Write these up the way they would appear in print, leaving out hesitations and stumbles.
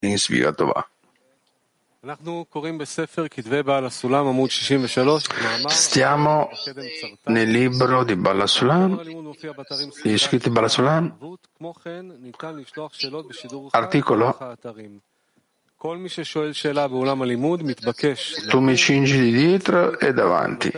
in Sviga Tovà. Stiamo nel libro di Baal HaSulam, gli scritti Baal HaSulam, articolo tu mi cingi di dietro e davanti.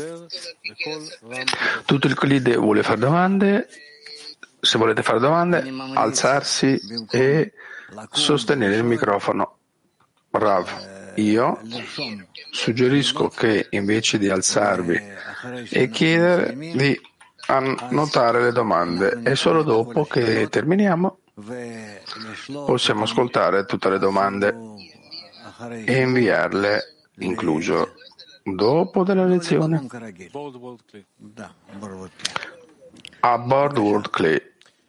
Tutto il Klide vuole fare domande. Se volete fare domande, alzarsi e sostenere il microfono. Rav, io suggerisco che invece di alzarvi e chiedere di annotare le domande e solo dopo che terminiamo possiamo ascoltare tutte le domande e inviarle, incluso dopo della lezione, a Board World Clay.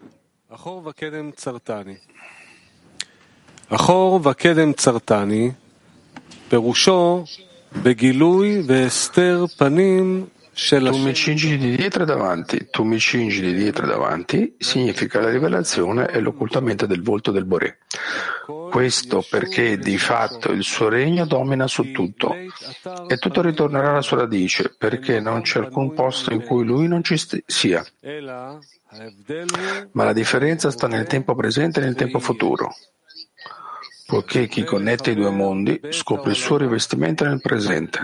אחור וקדם צרטני, פירושו בגילוי והסתר פנים של Tu mi cingi di dietro e davanti, tu mi cingi di dietro e davanti, significa la rivelazione e l'occultamento del volto del Boré. Questo perché di fatto il suo regno domina su tutto e tutto ritornerà alla sua radice, perché non c'è alcun posto in cui lui non ci sia. Ma la differenza sta nel tempo presente e nel tempo futuro, poiché chi connette i due mondi scopre il suo rivestimento nel presente,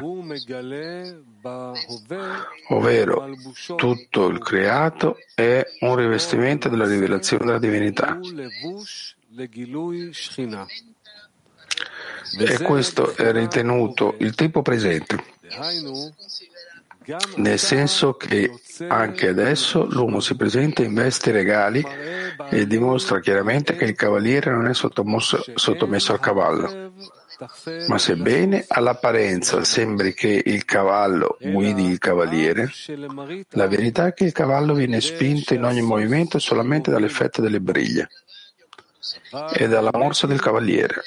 ovvero tutto il creato è un rivestimento della rivelazione della divinità. E questo è ritenuto il tempo presente, nel senso che anche adesso l'uomo si presenta in vesti regali e dimostra chiaramente che il cavaliere non è sottomesso al cavallo. Ma sebbene all'apparenza sembri che il cavallo guidi il cavaliere, la verità è che il cavallo viene spinto in ogni movimento solamente dall'effetto delle briglie e dalla morsa del cavaliere.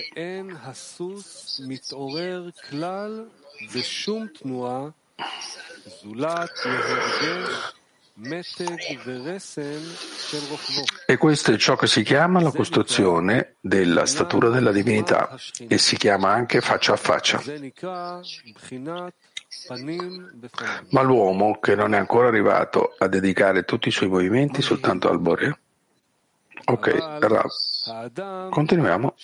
E questo è ciò che si chiama la costruzione della statura della divinità e si chiama anche faccia a faccia. Ma l'uomo che non è ancora arrivato a dedicare tutti i suoi movimenti soltanto al Boré. Ok, Rav, continuiamo.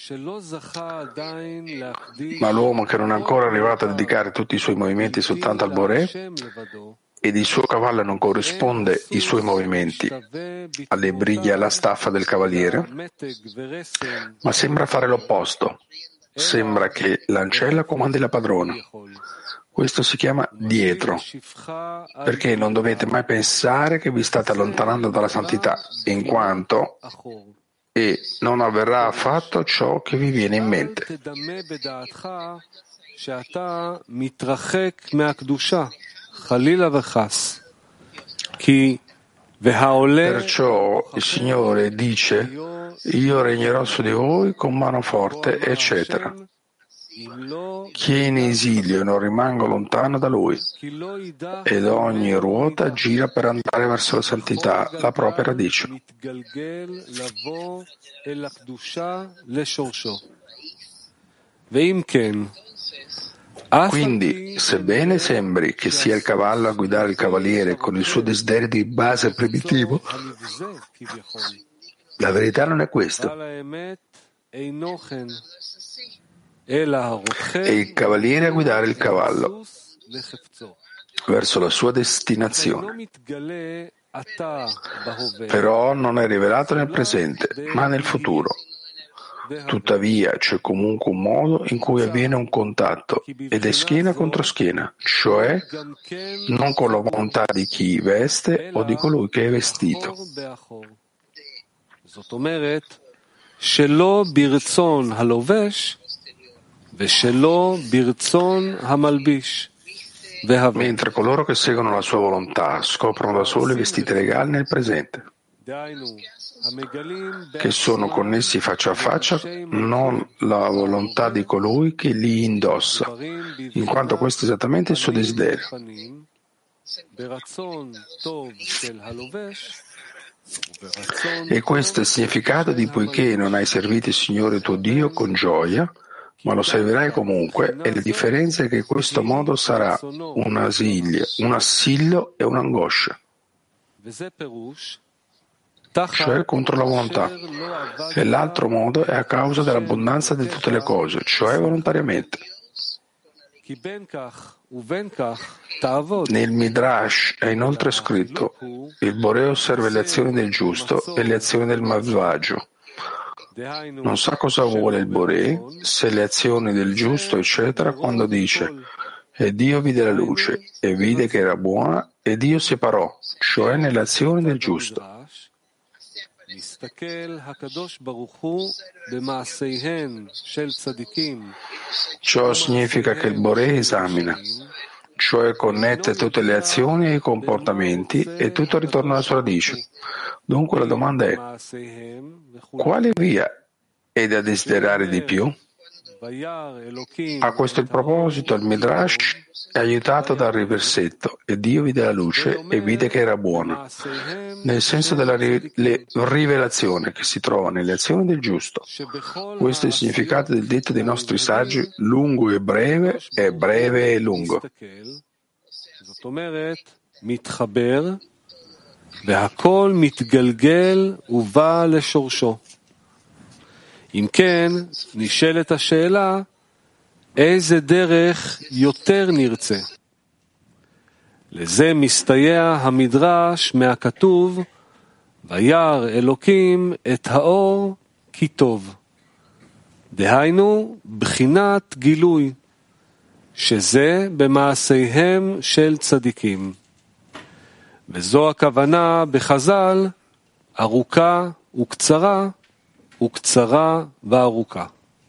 Ma l'uomo che non è ancora arrivato a dedicare tutti i suoi movimenti soltanto al Boré ed il suo cavallo non corrisponde i suoi movimenti alle briglie e alla staffa del cavaliere, ma sembra fare l'opposto. Sembra che l'ancella comandi la padrona. Questo si chiama dietro, perché non dovete mai pensare che vi state allontanando dalla santità, in quanto e non avverrà affatto ciò che vi viene in mente. Perciò il Signore dice: io regnerò su di voi con mano forte, eccetera. Chi è in esilio non rimango lontano da lui, ed ogni ruota gira per andare verso la santità, la propria radice. Quindi, sebbene sembri che sia il cavallo a guidare il cavaliere con il suo desiderio di base primitivo, la verità non è questo. È il cavaliere a guidare il cavallo verso la sua destinazione. Però non è rivelato nel presente, ma nel futuro. Tuttavia c'è comunque un modo in cui avviene un contatto ed è schiena contro schiena, cioè non con la volontà di chi veste o di colui che è vestito. Mentre coloro che seguono la sua volontà scoprono da soli vestiti regali nel presente, che sono connessi faccia a faccia, non la volontà di colui che li indossa, in quanto questo è esattamente il suo desiderio. E questo è il significato di poiché non hai servito il Signore tuo Dio con gioia, ma lo servirai comunque, e la differenza è che in questo modo sarà un assillo e un'angoscia, cioè contro la volontà. E l'altro modo è a causa dell'abbondanza di tutte le cose, cioè volontariamente. Nel Midrash è inoltre scritto: il Boré osserva le azioni del giusto e le azioni del malvagio. Non sa cosa vuole il Boré, se le azioni del giusto, eccetera, quando dice: e Dio vide la luce e vide che era buona e Dio separò, cioè nelle azioni del giusto. Ciò significa che il Boré esamina, cioè connette tutte le azioni e i comportamenti e tutto ritorna alla sua radice. Dunque la domanda è: quale via è da desiderare di più? A questo il proposito il Midrash è aiutato dal riversetto: e Dio vide la luce e vide che era buona, nel senso della rivelazione che si trova nelle azioni del giusto. Questo è il significato del detto dei nostri saggi: lungo e breve e lungo. והכל מתגלגל ובא לשורשו. אם כן, נשאלת השאלה, איזה דרך יותר נרצה? לזה מסתייע המדרש מהכתוב, וירא אלוקים את האור כי טוב. דהיינו, בחינת גילוי, שזה במעשיהם של צדיקים. וזו הכוונה בחז"ל, ארוכה וקצרה, וקצרה וארוכה.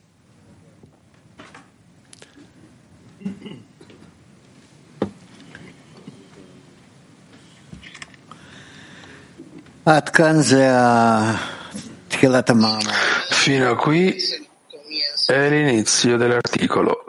עד כאן זה תחילת המאמר. Fino a qui è l'inizio dell'articolo.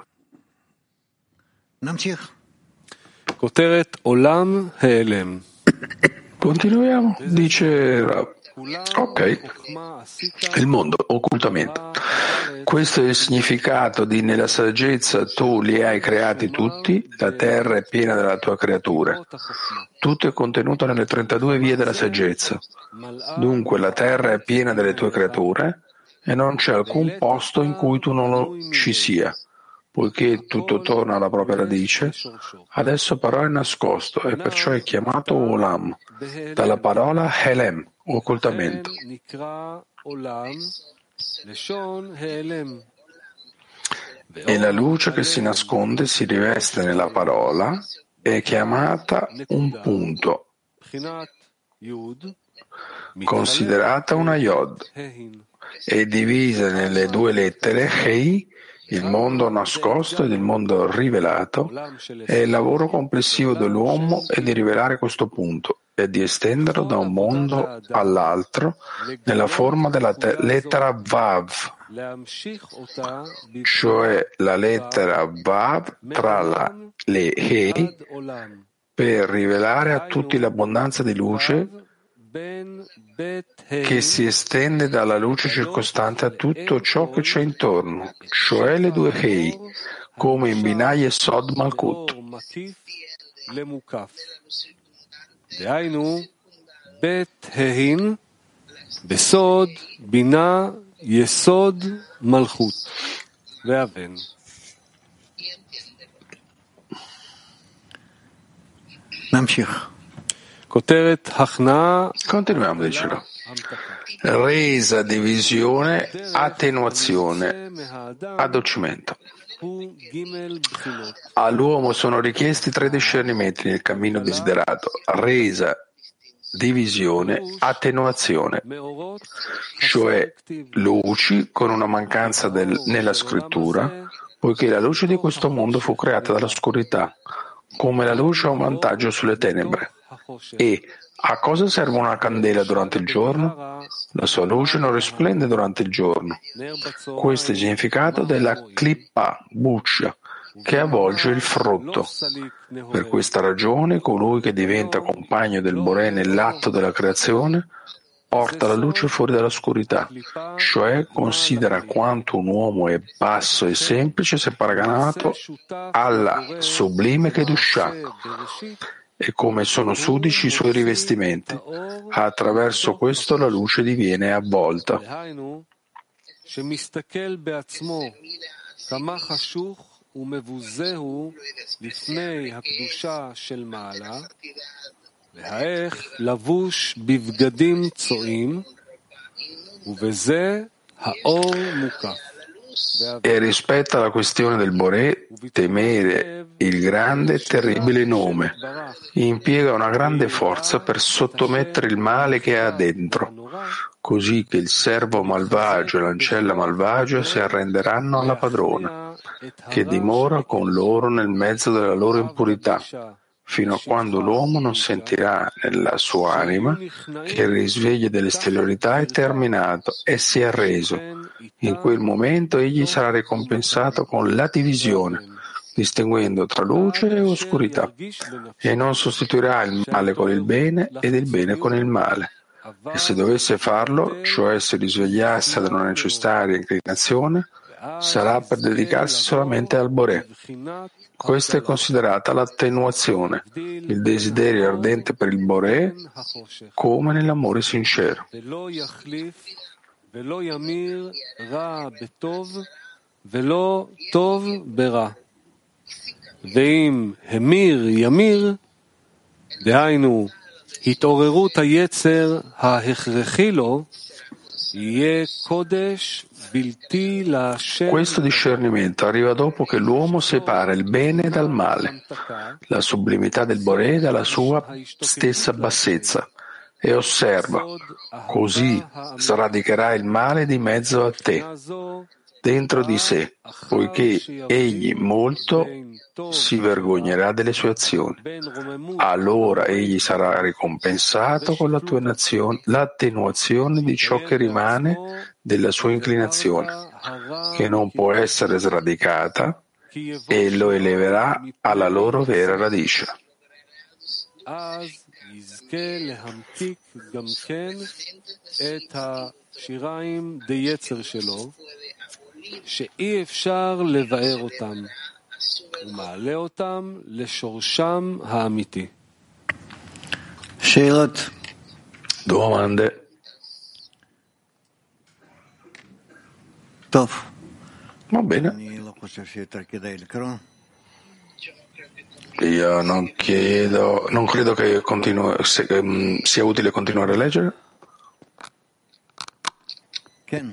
נמשיך. כותרת עולם העלם. Continuiamo, dice Rav. Ok, il mondo, occultamento. Questo è il significato di: nella saggezza tu li hai creati tutti, la terra è piena della tua creatura. Tutto è contenuto nelle 32 vie della saggezza. Dunque la terra è piena delle tue creature e non c'è alcun posto in cui tu non ci sia. Poiché tutto torna alla propria radice, adesso però è nascosto e perciò è chiamato Olam, dalla parola Helem, occultamento. E la luce che si nasconde si riveste nella parola, è chiamata un punto, considerata una Yod, è divisa nelle due lettere Hei. Il mondo nascosto ed il mondo rivelato, e il lavoro complessivo dell'uomo è di rivelare questo punto e di estenderlo da un mondo all'altro nella forma della lettera Vav, cioè la lettera Vav tra le He, per rivelare a tutti l'abbondanza di luce che si estende dalla luce circostante a tutto ciò che c'è intorno, cioè le due Hei, come in Binah Yesod Malkut. דהיינו, בית ההין, בסוד, בינה, יסוד, מלכות, ואבן. נמשיך. כותרת הכנעה. Continuiamo, dicelo. Resa, divisione, attenuazione, addolcimento. All'uomo sono richiesti 3 discernimenti nel cammino desiderato: resa, divisione, attenuazione, cioè luci con una mancanza nella scrittura, poiché la luce di questo mondo fu creata dall'oscurità, come la luce ha un vantaggio sulle tenebre. E a cosa serve una candela durante il giorno? La sua luce non risplende durante il giorno. Questo è il significato della clippa, buccia, che avvolge il frutto. Per questa ragione, colui che diventa compagno del Boré nell'atto della creazione porta la luce fuori dall'oscurità, cioè considera quanto un uomo è basso e semplice se paragonato alla sublime Kedushah e come sono sudici i suoi rivestimenti. Attraverso questo la luce diviene avvolta. והאיך לבוש בבגדים צועים, ובזה האור מוקף. E rispetto alla questione del Boré, temere il grande e terribile nome impiega una grande forza per sottomettere il male che ha dentro, così che il servo malvagio e l'ancella malvagia si arrenderanno alla padrona, che dimora con loro nel mezzo della loro impurità, fino a quando l'uomo non sentirà nella sua anima che il risveglio dell'esteriorità è terminato e si è arreso. In quel momento egli sarà ricompensato con la divisione, distinguendo tra luce e oscurità, e non sostituirà il male con il bene ed il bene con il male. E se dovesse farlo, cioè se risvegliasse da una necessaria inclinazione, sarà per dedicarsi solamente al Boré. Questa è considerata l'attenuazione, il desiderio ardente per il Boré, come nell'amore sincero. ואם המיר ימיר, דהיינו התעוררות היצר ההכרחי לו, יהיה קודש בלתי להשם. Questo discernimento arriva dopo che l'uomo separa il bene dal male, la sublimità del Boré dalla sua stessa bassezza, e osserva, così sradicherà il male di mezzo a te, dentro di sé, poiché egli molto si vergognerà delle sue azioni. Allora egli sarà ricompensato con l'attenuazione di ciò che rimane della sua inclinazione, che non può essere sradicata, e lo eleverà alla loro vera radice. שאי אפשר לבאר אותם, ומעלה אותם לשורשם האמיתי. שאלות. Domande. טוב. Va bene. אני לא חושב שיותר כדאי לקרוא. Io non credo che sia utile continuare a leggere. כן.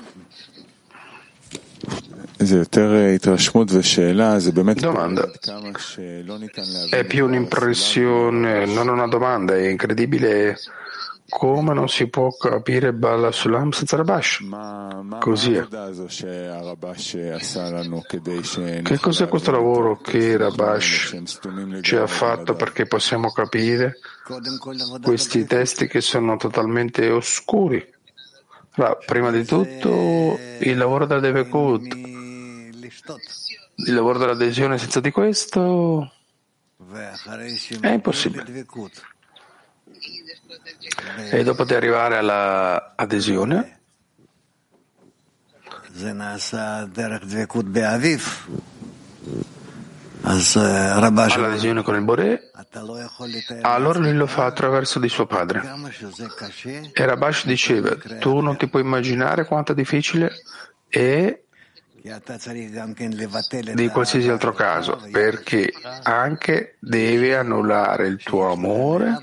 Domanda. È più un'impressione, non una domanda. È incredibile come non si può capire Bala Sulam senza Rabash. Così è. Che cos'è questo lavoro che Rabash ci ha fatto perché possiamo capire questi testi che sono totalmente oscuri? Prima di tutto il lavoro della Devekut, il lavoro dell'adesione, senza di questo è impossibile. E dopo di arrivare alla adesione, all'adesione con il Boré, allora lui lo fa attraverso di suo padre. E Rabash diceva, tu non ti puoi immaginare quanto è difficile è di qualsiasi altro caso, perché anche devi annullare il tuo amore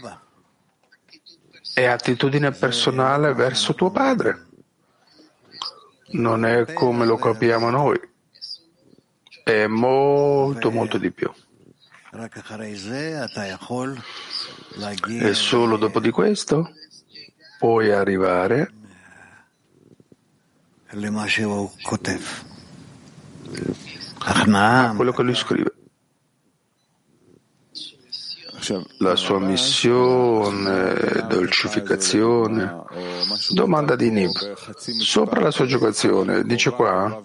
e attitudine personale verso tuo padre. Non è come lo capiamo noi, è molto molto di più. E solo dopo di questo puoi arrivare a quello che lui scrive. La sua missione, dolcificazione. Domanda di Nib. Sopra la sua giocazione, dice qua,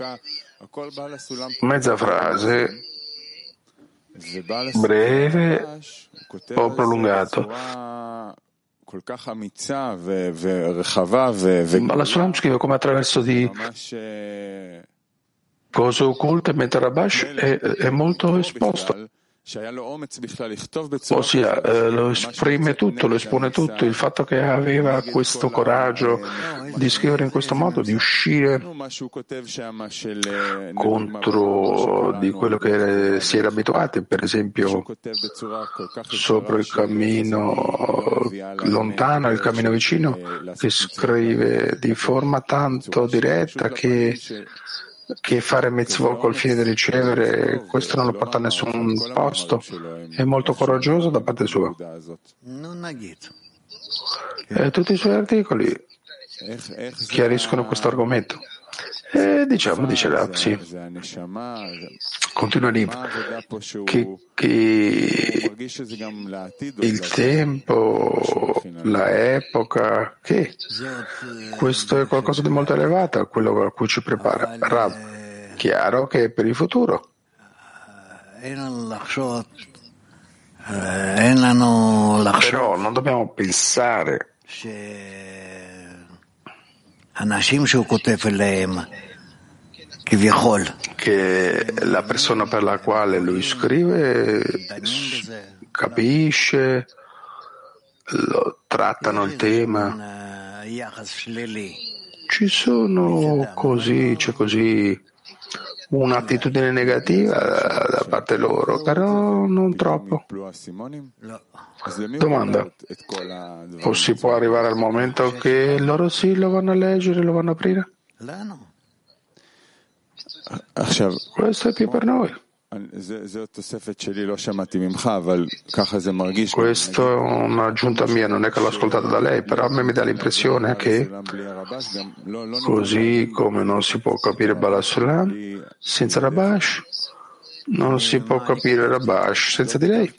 mezza frase, breve o prolungato. Bala Sulam scrive come attraverso di cose occulte, mentre Rabash è molto esposto. Ossia, lo esprime tutto, lo espone tutto. Il fatto che aveva questo coraggio di scrivere in questo modo, di uscire contro di quello che si era abituati, per esempio sopra il cammino lontano, il cammino vicino, che scrive di forma tanto diretta che fare mitzvot col fine di ricevere, questo non lo porta a nessun posto, è molto coraggioso da parte sua. E tutti i suoi articoli chiariscono questo argomento. E diciamo, dice Rav, sì, continua lì, che il tempo, la epoca, che questo è qualcosa di molto elevato, quello a cui ci prepara Rav. Chiaro che è per il futuro. Però non dobbiamo pensare che la persona per la quale lui scrive capisce, lo trattano il tema. Ci sono così, c'è così un'attitudine negativa da parte loro, però non troppo. Domanda: o si può arrivare al momento che loro sì lo vanno a leggere, lo vanno a aprire? Questo è più per noi. Questo è un'aggiunta mia, non è che l'ho ascoltata da lei, però a me mi dà l'impressione che, così come non si può capire Bala Sulam senza Rabash, non si può capire Rabash senza di lei.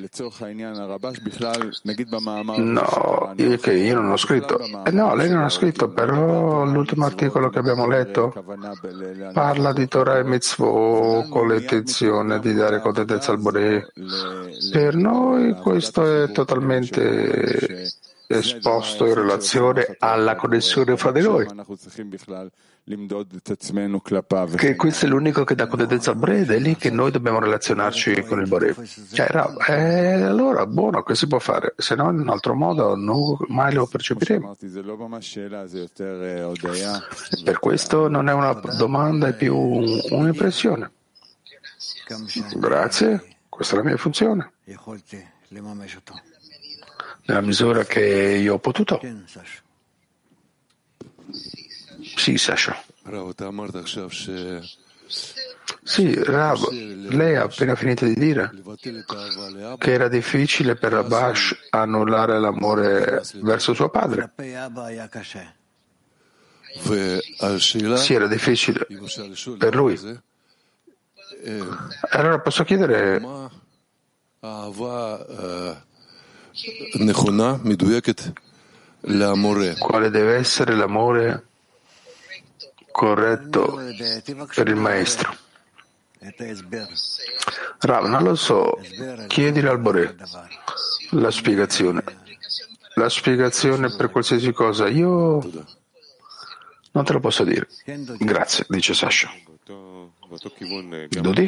No, io non ho scritto. No, lei non ha scritto, però l'ultimo articolo che abbiamo letto parla di Torah e Mitzvot con l'intenzione di dare contentezza al Boré. Per noi questo è totalmente esposto in relazione alla connessione fra di noi. Che questo è l'unico che dà contentezza al Boré ed è lì che noi dobbiamo relazionarci con il Boré. Cioè, allora, buono, che si può fare? Se no, in un altro modo, mai lo percepiremo. Per questo non è una domanda, è più un'impressione. Grazie, questa è la mia funzione. Nella misura che io ho potuto. Sì, Sasha. Sì, Rav, lei ha appena finito di dire che era difficile per Rabash annullare l'amore verso suo padre. Sì, era difficile per lui. Allora posso chiedere quale deve essere l'amore corretto per il maestro? Rav, non lo so, chiedile al Boré la spiegazione. La spiegazione per qualsiasi cosa, io non te lo posso dire. Grazie, dice Sasha. Dodi?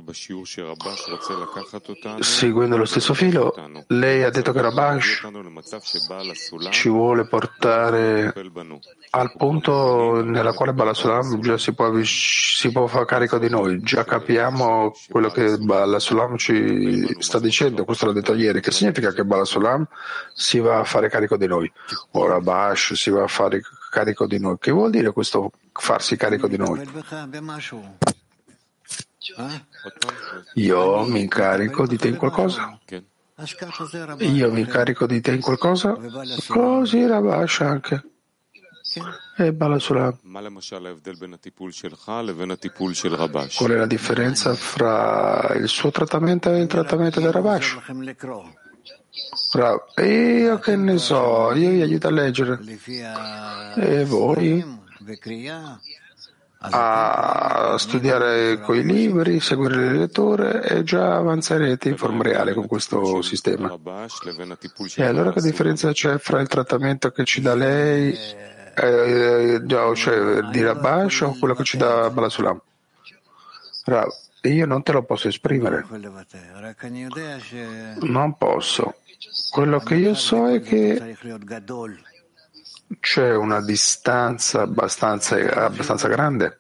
Seguendo lo stesso filo, lei ha detto che Rabash ci vuole portare al punto nella quale Bala Sulam già si può fare carico di noi. Già capiamo quello che Bala Sulam ci sta dicendo, questo l'ha detto ieri, che significa che Bala Sulam si va a fare carico di noi, o Rabash si va a fare carico di noi. Che vuol dire questo farsi carico di noi? Io mi incarico di te in qualcosa? Io mi incarico di te in qualcosa? Così Rabash anche. E Bala Sulam. Qual è la differenza fra il suo trattamento e il trattamento del Rabash? Io che ne so, io vi aiuto a leggere. E voi? a studiare coi libri, seguire le letture e già avanzerete in forma reale con questo sistema. E allora che differenza c'è fra il trattamento che ci dà lei, cioè di Rabash o quello che ci dà Balasulam? Io non te lo posso esprimere, non posso. Quello che io so è che c'è una distanza abbastanza grande.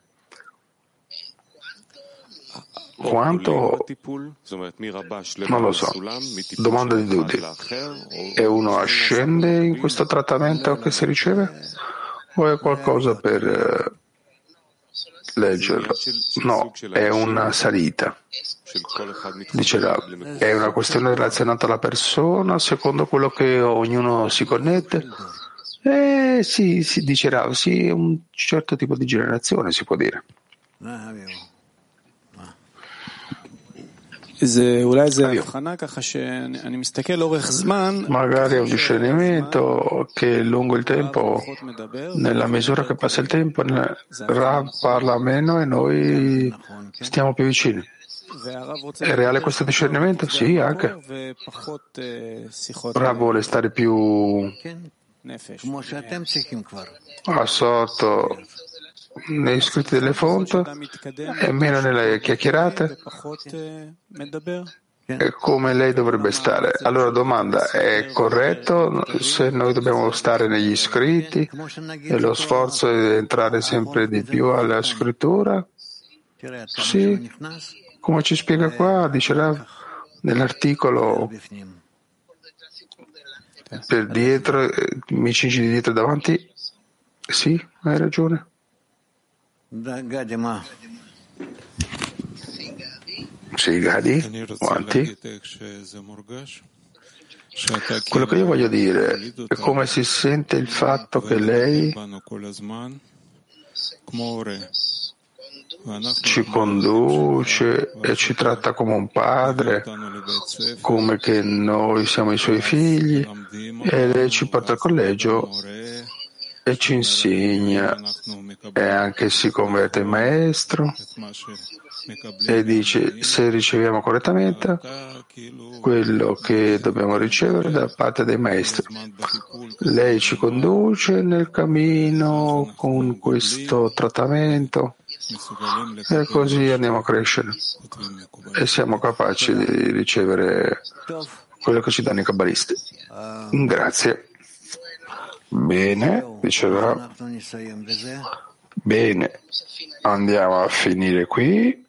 Quanto? Non lo so. Domanda di Dudi. E uno ascende in questo trattamento che si riceve? O è qualcosa per leggerlo? No, è una salita. Dice Rav, è una questione relazionata alla persona, secondo quello che ognuno si connette? Sì, dice Rav, sì, è un certo tipo di generazione, si può dire. Magari è un discernimento che lungo il tempo, nella misura che passa il tempo, Rav parla meno e noi stiamo più vicini. È reale questo discernimento? Sì, anche. Rav vuole stare più assorto negli scritti delle fonti e meno nelle chiacchierate. E come lei dovrebbe stare. Allora domanda, è corretto se noi dobbiamo stare negli scritti e lo sforzo è entrare sempre di più alla scrittura? Sì, come ci spiega qua, dice Rav, nell'articolo per dietro, mi cingi di dietro e davanti? Sì, hai ragione. Sì, Gadi, avanti. Quello che io voglio dire è come si sente il fatto che lei ci conduce e ci tratta come un padre, come che noi siamo i suoi figli, e lei ci porta al collegio e ci insegna e anche si converte in maestro e dice se riceviamo correttamente quello che dobbiamo ricevere da parte dei maestri. Lei ci conduce nel cammino con questo trattamento e così andiamo a crescere e siamo capaci di ricevere quello che ci danno i kabbalisti. Grazie. Bene, diceva. Bene, andiamo a finire qui.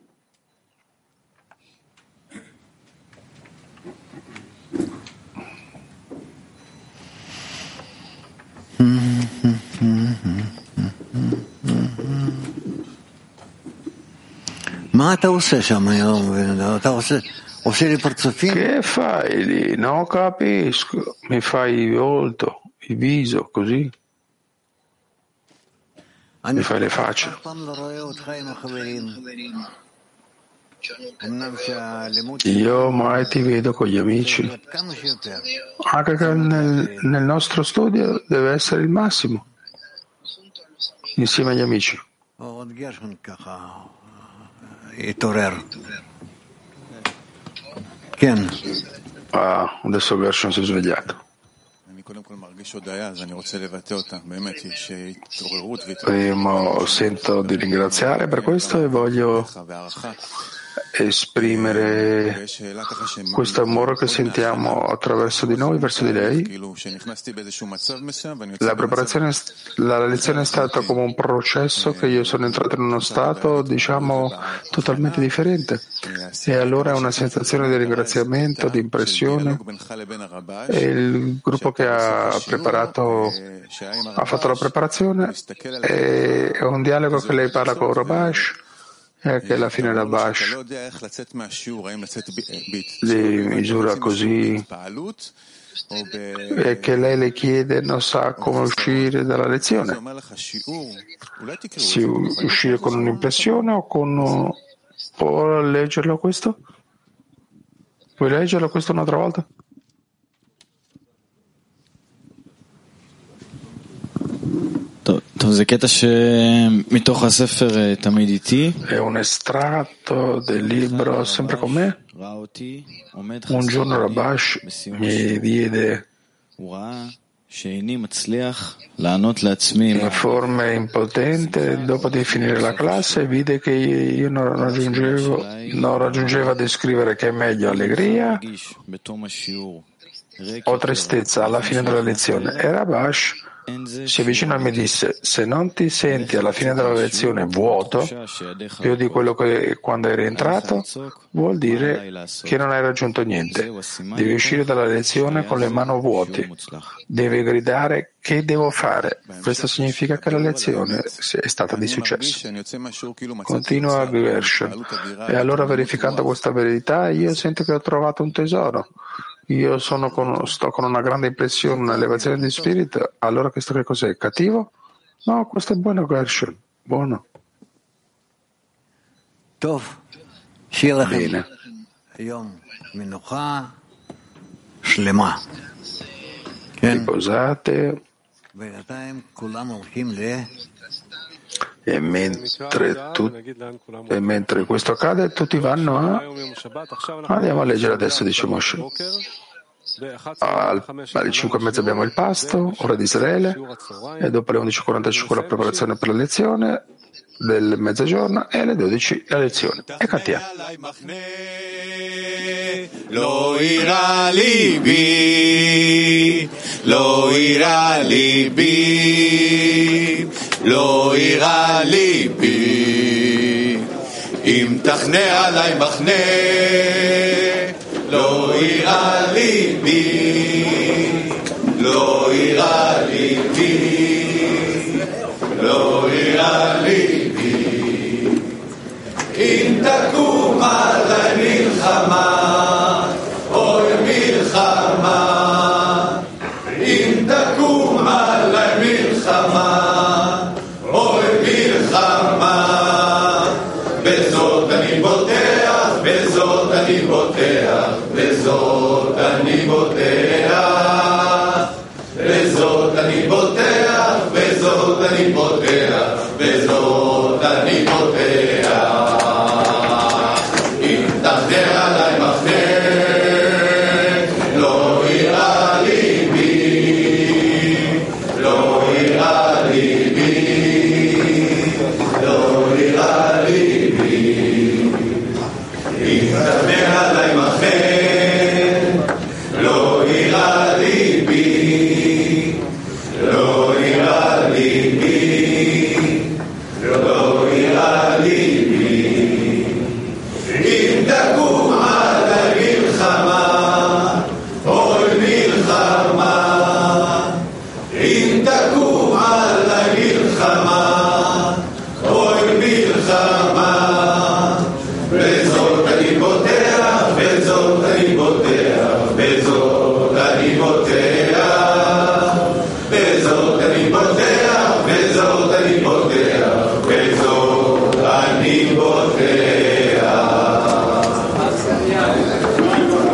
Che fai lì? Non capisco. Mi fai il volto, il viso, così. Mi fai le facce. Io mai ti vedo con gli amici. Anche che nel nostro studio deve essere il massimo. Insieme agli amici. Adesso Gershon si è svegliato. Primo, sento di ringraziare per questo e voglio esprimere questo amore che sentiamo attraverso di noi verso di lei. La lezione è stata come un processo che io sono entrato in uno stato, diciamo, totalmente differente. E allora è una sensazione di ringraziamento, di impressione. E il gruppo che ha fatto la preparazione è un dialogo che lei parla con Rabash. E che alla fine Rabash li misura così e che lei le chiede non sa come uscire dalla lezione, uscire con un'impressione o con può leggerlo questo? Puoi leggerlo questo un'altra volta? È un estratto del libro Sempre con me. Un giorno Rabash mi diede in forma impotente, dopo di finire la classe, vide che io non raggiungevo a descrivere che è meglio allegria o tristezza alla fine della lezione. E Rabash si avvicinò e mi disse: se non ti senti alla fine della lezione vuoto, più di quello che quando eri entrato, vuol dire che non hai raggiunto niente. Devi uscire dalla lezione con le mani vuote. Devi gridare: che devo fare? Questo significa che la lezione è stata di successo. Continua Gershon. E allora, verificando questa verità, io sento che ho trovato un tesoro. Io sto con una grande impressione, un'elevazione di spirito. Allora questo che cos'è? Cattivo? No, questo è buono, Gershon. Buono. Bene. Riposate. E mentre questo accade, tutti vanno andiamo a leggere adesso, dice Moshe. Alle 5:30 abbiamo il pasto, ora di Israele, e dopo le 11:45 la preparazione per la lezione del mezzogiorno e alle 12 la lezione. E cantiamo. Lo ira libi, lo ira libi, lo ira libi, im tachne alai machne, lo ira libi, lo ira libi, lo ira libi, im takum alai milchama. אם תקום עלי מלחמה, אוי מלחמה, בזאת אני בוטח, בזאת אני בוטח, בזאת אני בוטח, בזאת אני בוטח, בזאת אני בוטח, בזאת אני בוטח. אם תחדר עלי מחנה אני בוטח